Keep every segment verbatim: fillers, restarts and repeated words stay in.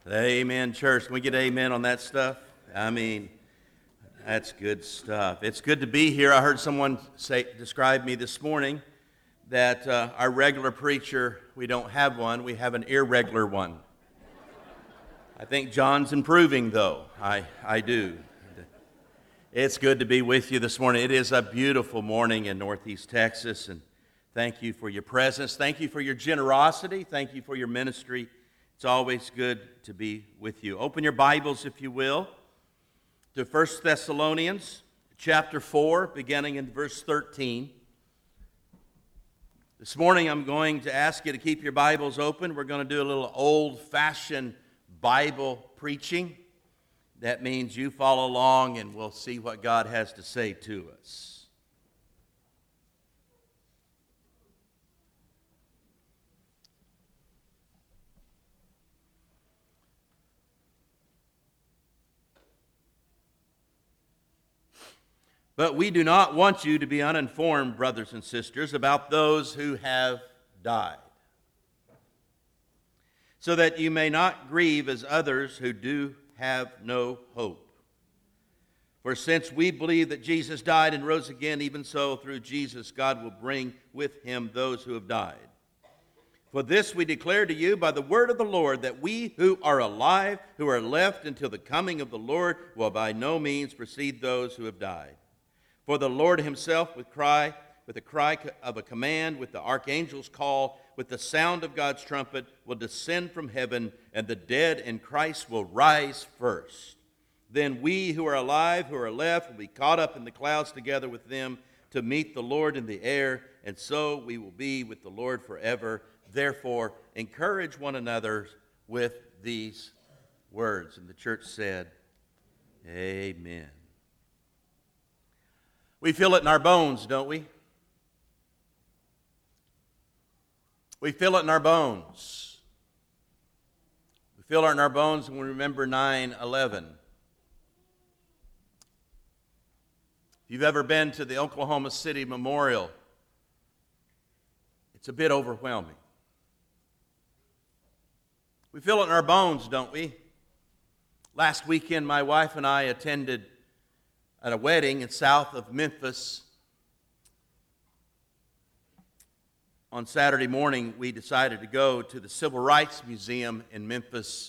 Amen, church. Can we get amen on that stuff? I mean, that's good stuff. It's good to be here. I heard someone say, describe me this morning that uh, our regular preacher, we don't have one, we have an irregular one. I think John's improving, though. I, I do. It's good to be with you this morning. It is a beautiful morning in Northeast Texas, and thank you for your presence. Thank you for your generosity. Thank you for your ministry. It's always good to be with you. Open your Bibles, if you will, to First Thessalonians chapter four, beginning in verse thirteen. This morning I'm going to ask you to keep your Bibles open. We're going to do a little old-fashioned Bible preaching. That means you follow along and we'll see what God has to say to us. But we do not want you to be uninformed, brothers and sisters, about those who have died, so that you may not grieve as others who do have no hope. For since we believe that Jesus died and rose again, even so through Jesus God will bring with him those who have died. For this we declare to you by the word of the Lord, that we who are alive, who are left until the coming of the Lord, will by no means precede those who have died. For the Lord himself with cry, with the cry of a command, with the archangel's call, with the sound of God's trumpet, will descend from heaven, and the dead in Christ will rise first. Then we who are alive, who are left, will be caught up in the clouds together with them to meet the Lord in the air, and so we will be with the Lord forever. Therefore, encourage one another with these words. And the church said, Amen. We feel it in our bones, don't we? We feel it in our bones. We feel it in our bones when we remember nine eleven. If you've ever been to the Oklahoma City Memorial, it's a bit overwhelming. We feel it in our bones, don't we? Last weekend, my wife and I attended at a wedding in south of Memphis. On Saturday morning, we decided to go to the Civil Rights Museum in Memphis.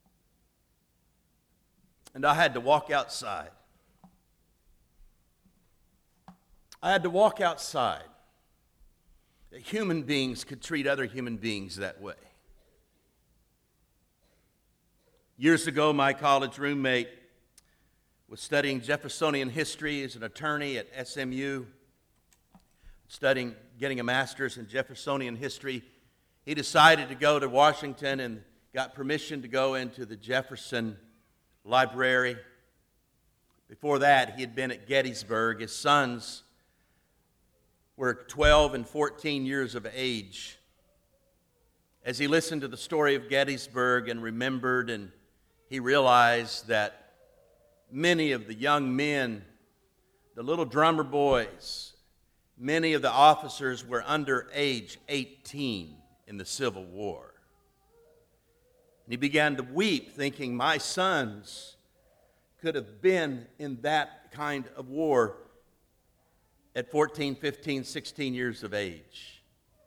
And I had to walk outside. I had to walk outside. That human beings could treat other human beings that way. Years ago, my college roommate was studying Jeffersonian history as an attorney at S M U, studying, getting a master's in Jeffersonian history. He decided to go to Washington and got permission to go into the Jefferson Library. Before that, he had been at Gettysburg. His sons were twelve and fourteen years of age. As he listened to the story of Gettysburg and remembered, and he realized that many of the young men, the little drummer boys, many of the officers were under age eighteen in the Civil War. And he began to weep, thinking, my sons could have been in that kind of war at fourteen, fifteen, sixteen years of age.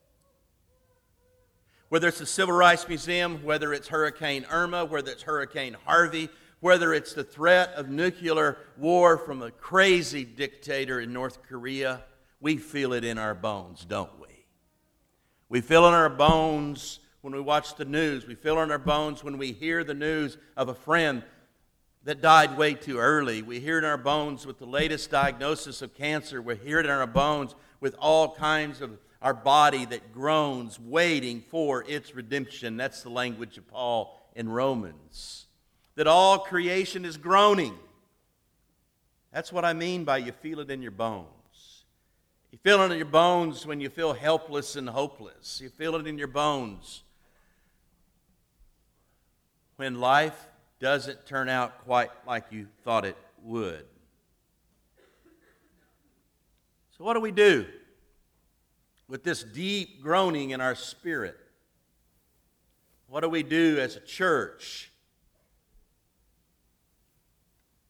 Whether it's the Civil Rights Museum, whether it's Hurricane Irma, whether it's Hurricane Harvey, whether it's the threat of nuclear war from a crazy dictator in North Korea, we feel it in our bones, don't we? We feel it in our bones when we watch the news. We feel it in our bones when we hear the news of a friend that died way too early. We hear it in our bones with the latest diagnosis of cancer. We hear it in our bones with all kinds of our body that groans, waiting for its redemption. That's the language of Paul in Romans. That all creation is groaning. That's what I mean by you feel it in your bones. You feel it in your bones when you feel helpless and hopeless. You feel it in your bones when life doesn't turn out quite like you thought it would. So what do we do with this deep groaning in our spirit? What do we do as a church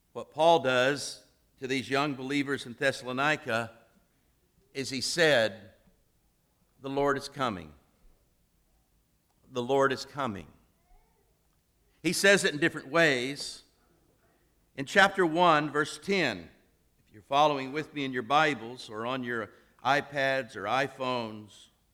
What Paul does to these young believers in Thessalonica is he said, the Lord is coming. The Lord is coming. He says it in different ways. In chapter one, verse ten, if you're following with me in your Bibles or on your iPads or iPhones,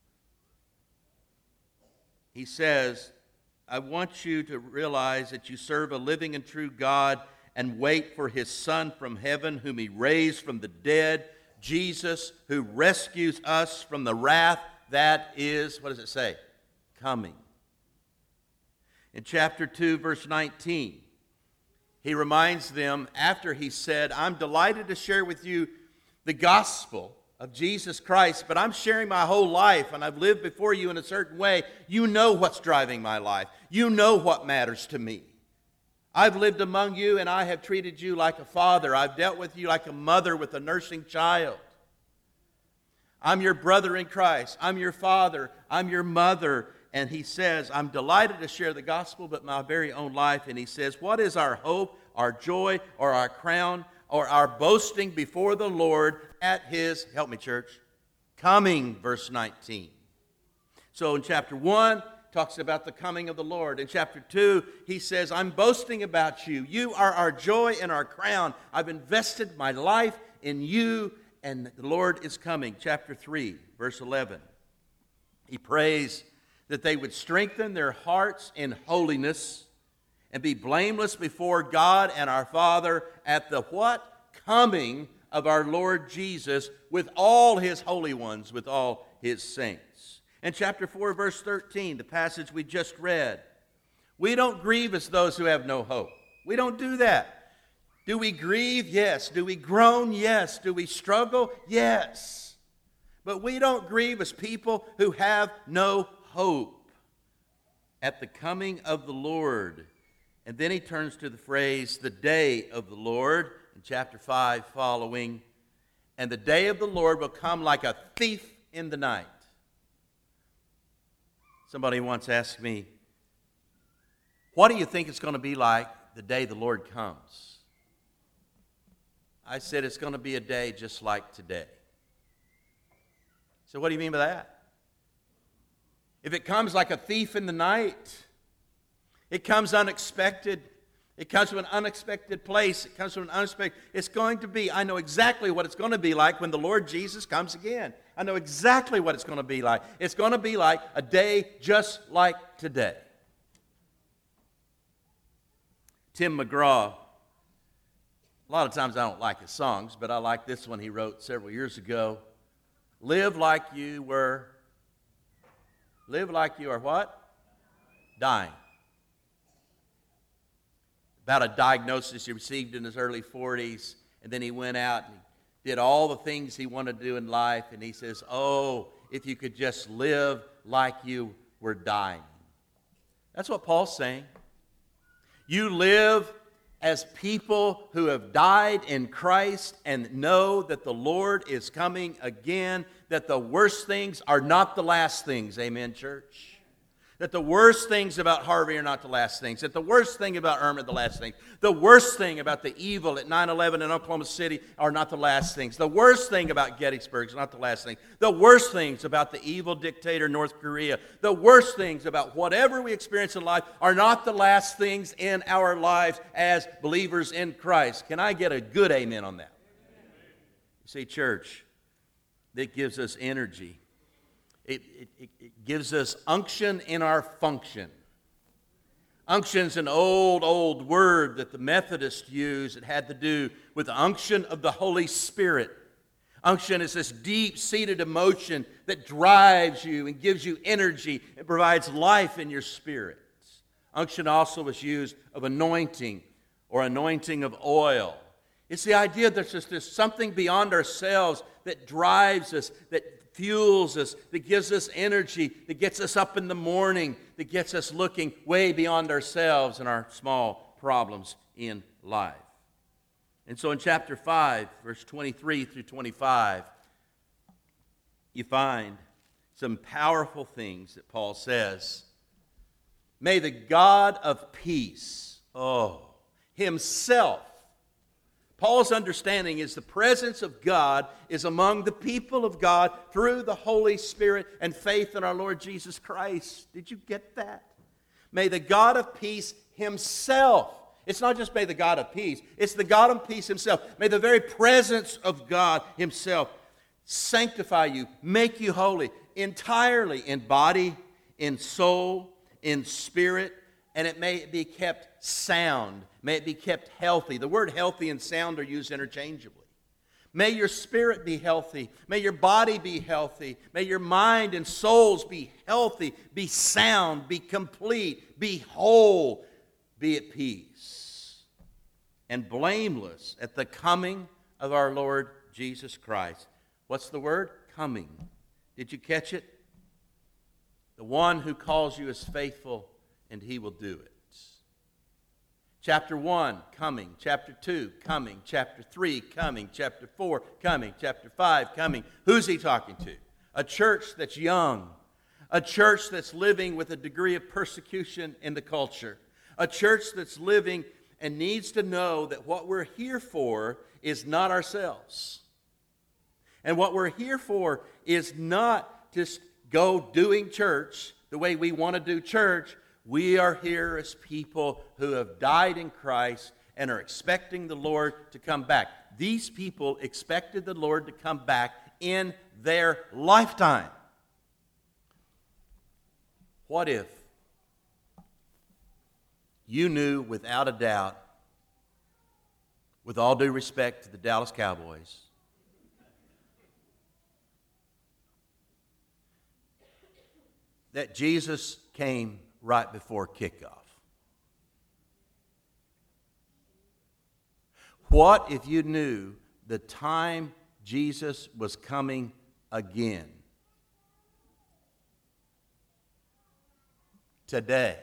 he says, I want you to realize that you serve a living and true God and wait for his Son from heaven, whom he raised from the dead, Jesus, who rescues us from the wrath that is, what does it say? Coming. In chapter two, verse nineteen, he reminds them, after he said, I'm delighted to share with you the gospel of Jesus Christ, but I'm sharing my whole life, and I've lived before you in a certain way. You know what's driving my life. You know what matters to me. I've lived among you, and I have treated you like a father. I've dealt with you like a mother with a nursing child. I'm your brother in Christ. I'm your father. I'm your mother. And he says, I'm delighted to share the gospel, but my very own life. And he says, what is our hope, our joy, or our crown, or our boasting before the Lord at his, help me church, coming, verse nineteen. So in chapter one, talks about the coming of the Lord. In chapter two, he says, I'm boasting about you. You are our joy and our crown. I've invested my life in you, and the Lord is coming. Chapter three, verse eleven. He prays that they would strengthen their hearts in holiness and be blameless before God and our Father at the what? Coming of our Lord Jesus with all his holy ones, with all his saints. In chapter four, verse thirteen, the passage we just read, we don't grieve as those who have no hope. We don't do that. Do we grieve? Yes. Do we groan? Yes. Do we struggle? Yes. But we don't grieve as people who have no hope at the coming of the Lord. And then he turns to the phrase, the day of the Lord, in chapter five following. And the day of the Lord will come like a thief in the night. Somebody once asked me, what do you think it's going to be like the day the Lord comes? I said, it's going to be a day just like today. So what do you mean by that? If it comes like a thief in the night, it comes unexpected, it comes from an unexpected place, it comes from an unexpected, it's going to be, I know exactly what it's going to be like when the Lord Jesus comes again. I know exactly what it's going to be like. It's going to be like a day just like today. Tim McGraw, a lot of times I don't like his songs, but I like this one he wrote several years ago. Live like you were, live like you are what? Dying. About a diagnosis he received in his early forties, and then he went out and did all the things he wanted to do in life, and he says, oh, if you could just live like you were dying. That's what Paul's saying. You live as people who have died in Christ and know that the Lord is coming again, that the worst things are not the last things. Amen, church? That the worst things about Harvey are not the last things. That the worst thing about Irma are the last things. The worst thing about the evil at nine eleven in Oklahoma City are not the last things. The worst thing about Gettysburg is not the last thing. The worst things about the evil dictator North Korea, the worst things about whatever we experience in life are not the last things in our lives as believers in Christ. Can I get a good amen on that? You see, church, that gives us energy. It, it, it gives us unction in our function. Unction's an old, old word that the Methodists used. It had to do with the unction of the Holy Spirit. Unction is this deep-seated emotion that drives you and gives you energy and provides life in your spirit. Unction also is used of anointing or anointing of oil. It's the idea that there's, there's something beyond ourselves that drives us, that fuels us, that gives us energy, that gets us up in the morning, that gets us looking way beyond ourselves and our small problems in life. And so in chapter five, verse twenty-three through twenty-five, you find some powerful things that Paul says. May the God of peace, oh, himself Paul's understanding is the presence of God is among the people of God through the Holy Spirit and faith in our Lord Jesus Christ. Did you get that? May the God of peace himself, it's not just may the God of peace, it's the God of peace himself. May the very presence of God himself sanctify you, make you holy entirely in body, in soul, in spirit, and it may be kept sound. May it be kept healthy. The word healthy and sound are used interchangeably. May your spirit be healthy. May your body be healthy. May your mind and souls be healthy, be sound, be complete, be whole, be at peace, and blameless at the coming of our Lord Jesus Christ. What's the word? Coming. Did you catch it? The one who calls you is faithful, and he will do it. Chapter one, coming. Chapter two, coming. Chapter three, coming. Chapter four, coming. Chapter five, coming. Who's he talking to? A church that's young. A church that's living with a degree of persecution in the culture. A church that's living and needs to know that what we're here for is not ourselves. And what we're here for is not just go doing church the way we want to do church. We are here as people who have died in Christ and are expecting the Lord to come back. These people expected the Lord to come back in their lifetime. What if you knew without a doubt, with all due respect to the Dallas Cowboys, that Jesus came right before kickoff? What if you knew the time Jesus was coming again? Today,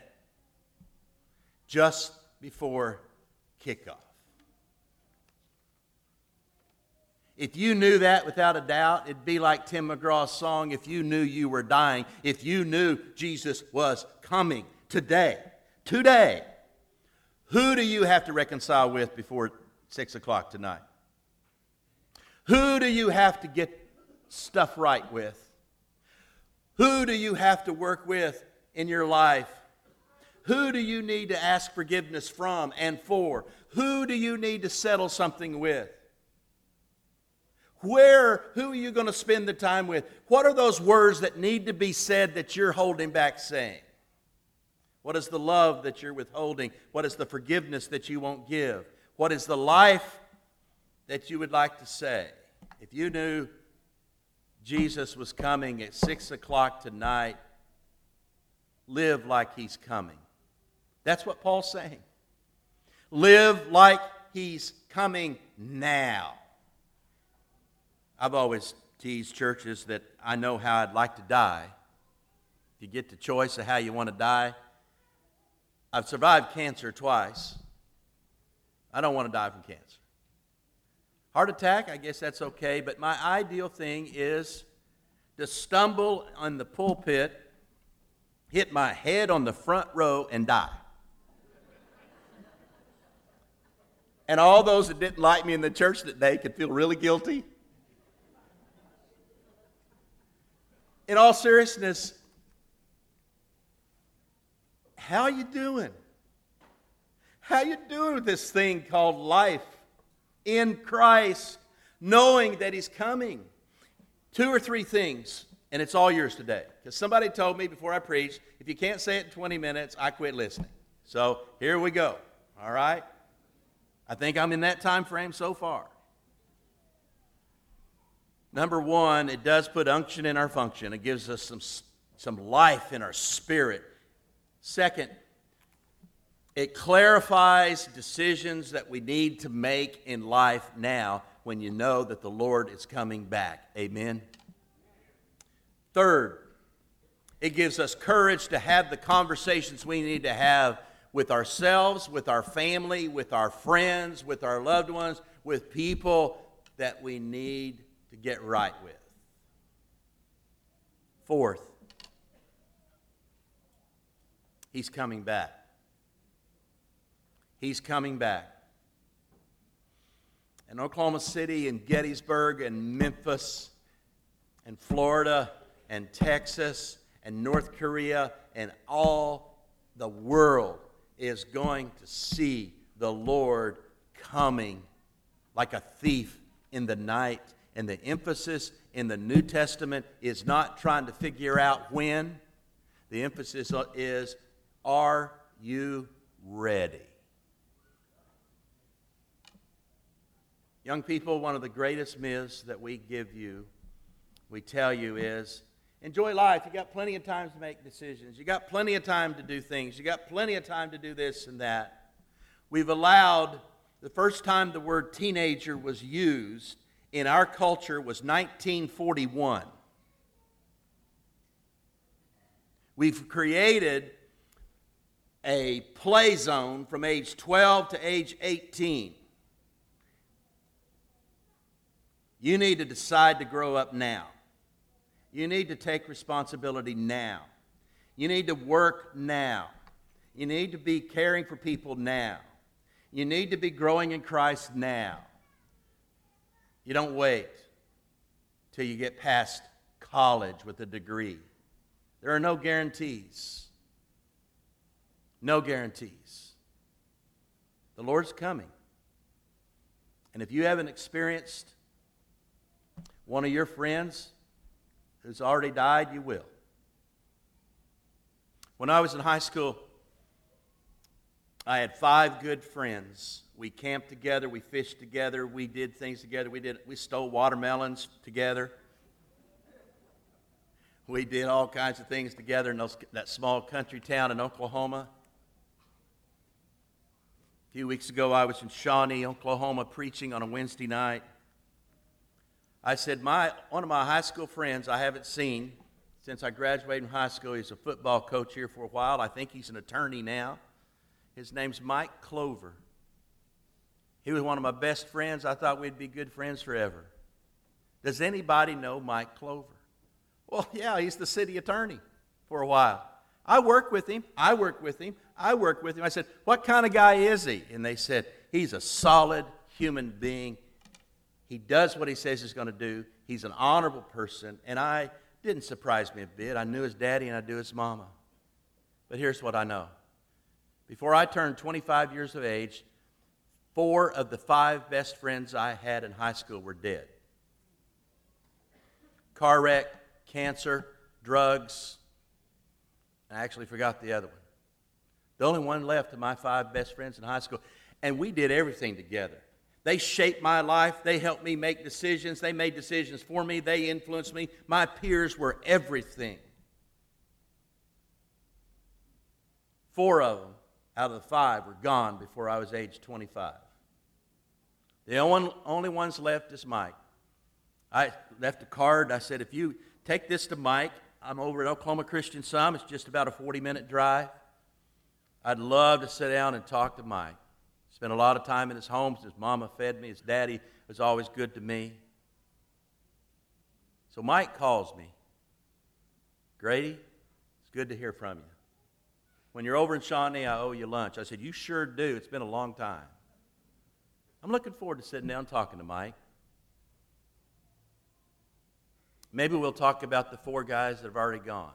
just before kickoff. If you knew that without a doubt, it'd be like Tim McGraw's song, If You Knew You Were Dying. If you knew Jesus was coming today, today, who do you have to reconcile with before six o'clock tonight? Who do you have to get stuff right with? Who do you have to work with in your life? Who do you need to ask forgiveness from and for? Who do you need to settle something with? Where, who are you going to spend the time with? What are those words that need to be said that you're holding back saying? What is the love that you're withholding? What is the forgiveness that you won't give? What is the life that you would like to say? If you knew Jesus was coming at six o'clock tonight, live like he's coming. That's what Paul's saying. Live like he's coming now. I've always teased churches that I know how I'd like to die. If you get the choice of how you want to die, I've survived cancer twice. I don't want to die from cancer. Heart attack, I guess that's okay, but my ideal thing is to stumble on the pulpit, hit my head on the front row, and die. And all those that didn't like me in the church that day could feel really guilty. In all seriousness, how you doing? How you doing with this thing called life in Christ, knowing that he's coming? Two or three things, and it's all yours today. Because somebody told me before I preached, if you can't say it in twenty minutes, I quit listening. So here we go, all right? I think I'm in that time frame so far. Number one, it does put unction in our function. It gives us some, some life in our spirit. Second, it clarifies decisions that we need to make in life now when you know that the Lord is coming back. Amen? Third, it gives us courage to have the conversations we need to have with ourselves, with our family, with our friends, with our loved ones, with people that we need to get right with. Fourth, he's coming back. He's coming back. and Oklahoma City and Gettysburg and Memphis and Florida and Texas and North Korea and all the world is going to see the Lord coming like a thief in the night. And the emphasis in the New Testament is not trying to figure out when. The emphasis is, are you ready? Young people, one of the greatest myths that we give you, we tell you is, enjoy life. You got plenty of time to make decisions. You got plenty of time to do things. You got plenty of time to do this and that. We've allowed, the first time the word teenager was used in our culture was nineteen forty-one. We've created a play zone from age twelve to age eighteen. You need to decide to grow up now. You need to take responsibility now. You need to work now. You need to be caring for people now. You need to be growing in Christ now. You don't wait till you get past college with a degree. There are no guarantees. No guarantees. The Lord's coming. And if you haven't experienced one of your friends who's already died, you will. When I was in high school, I had five good friends. We camped together, we fished together, we did things together. We did we stole watermelons together. We did all kinds of things together in those, that small country town in Oklahoma. A few weeks ago, I was in Shawnee, Oklahoma, preaching on a Wednesday night. I said, my one of my high school friends I haven't seen since I graduated from high school. He's a football coach here for a while. I think he's an attorney now. His name's Mike Clover. He was one of my best friends. I thought we'd be good friends forever. Does anybody know Mike Clover? Well, yeah, he's the city attorney for a while. I work with him. I work with him. I work with him. I said, what kind of guy is he? And they said, he's a solid human being. He does what he says he's going to do. He's an honorable person. And I didn't surprise me a bit. I knew his daddy and I knew his mama. But here's what I know. Before I turned twenty-five years of age, four of the five best friends I had in high school were dead. Car wreck, cancer, drugs. I actually forgot the other one. The only one left of my five best friends in high school. And we did everything together. They shaped my life. They helped me make decisions. They made decisions for me. They influenced me. My peers were everything. Four of them out of the five were gone before I was age twenty-five. The only, only ones left is Mike. I left a card. I said, if you take this to Mike, I'm over at Oklahoma Christian Sum. It's just about a forty-minute drive. I'd love to sit down and talk to Mike. Spent a lot of time in his home. His mama fed me. His daddy was always good to me. So Mike calls me. Grady, it's good to hear from you. When you're over in Shawnee, I owe you lunch. I said, you sure do. It's been a long time. I'm looking forward to sitting down and talking to Mike. Maybe we'll talk about the four guys that have already gone.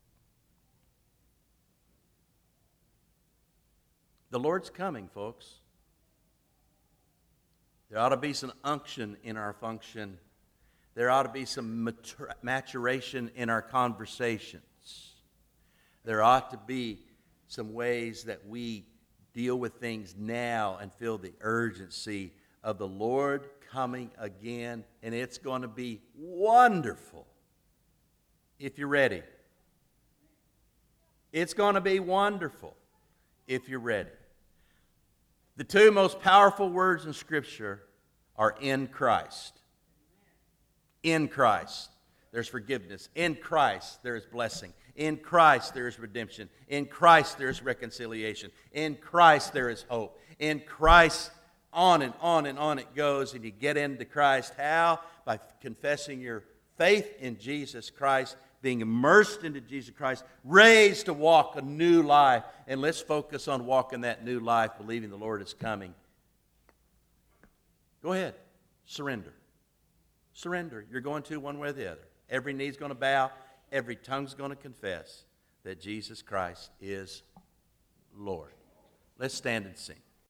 The Lord's coming, folks. There ought to be some unction in our function. There ought to be some matur- maturation in our conversations. There ought to be some ways that we deal with things now and feel the urgency of the Lord coming again, and it's going to be wonderful if you're ready. It's going to be wonderful if you're ready. The two most powerful words in Scripture are in Christ. In Christ, there's forgiveness. In Christ, there is blessing. In Christ, there is redemption. In Christ, there is reconciliation. In Christ, there is hope. In Christ, on and on and on it goes, and you get into Christ. How? By confessing your faith in Jesus Christ, being immersed into Jesus Christ, raised to walk a new life. And let's focus on walking that new life, believing the Lord is coming. Go ahead. Surrender. Surrender. You're going to one way or the other. Every knee's going to bow. Every tongue's going to confess that Jesus Christ is Lord. Let's stand and sing.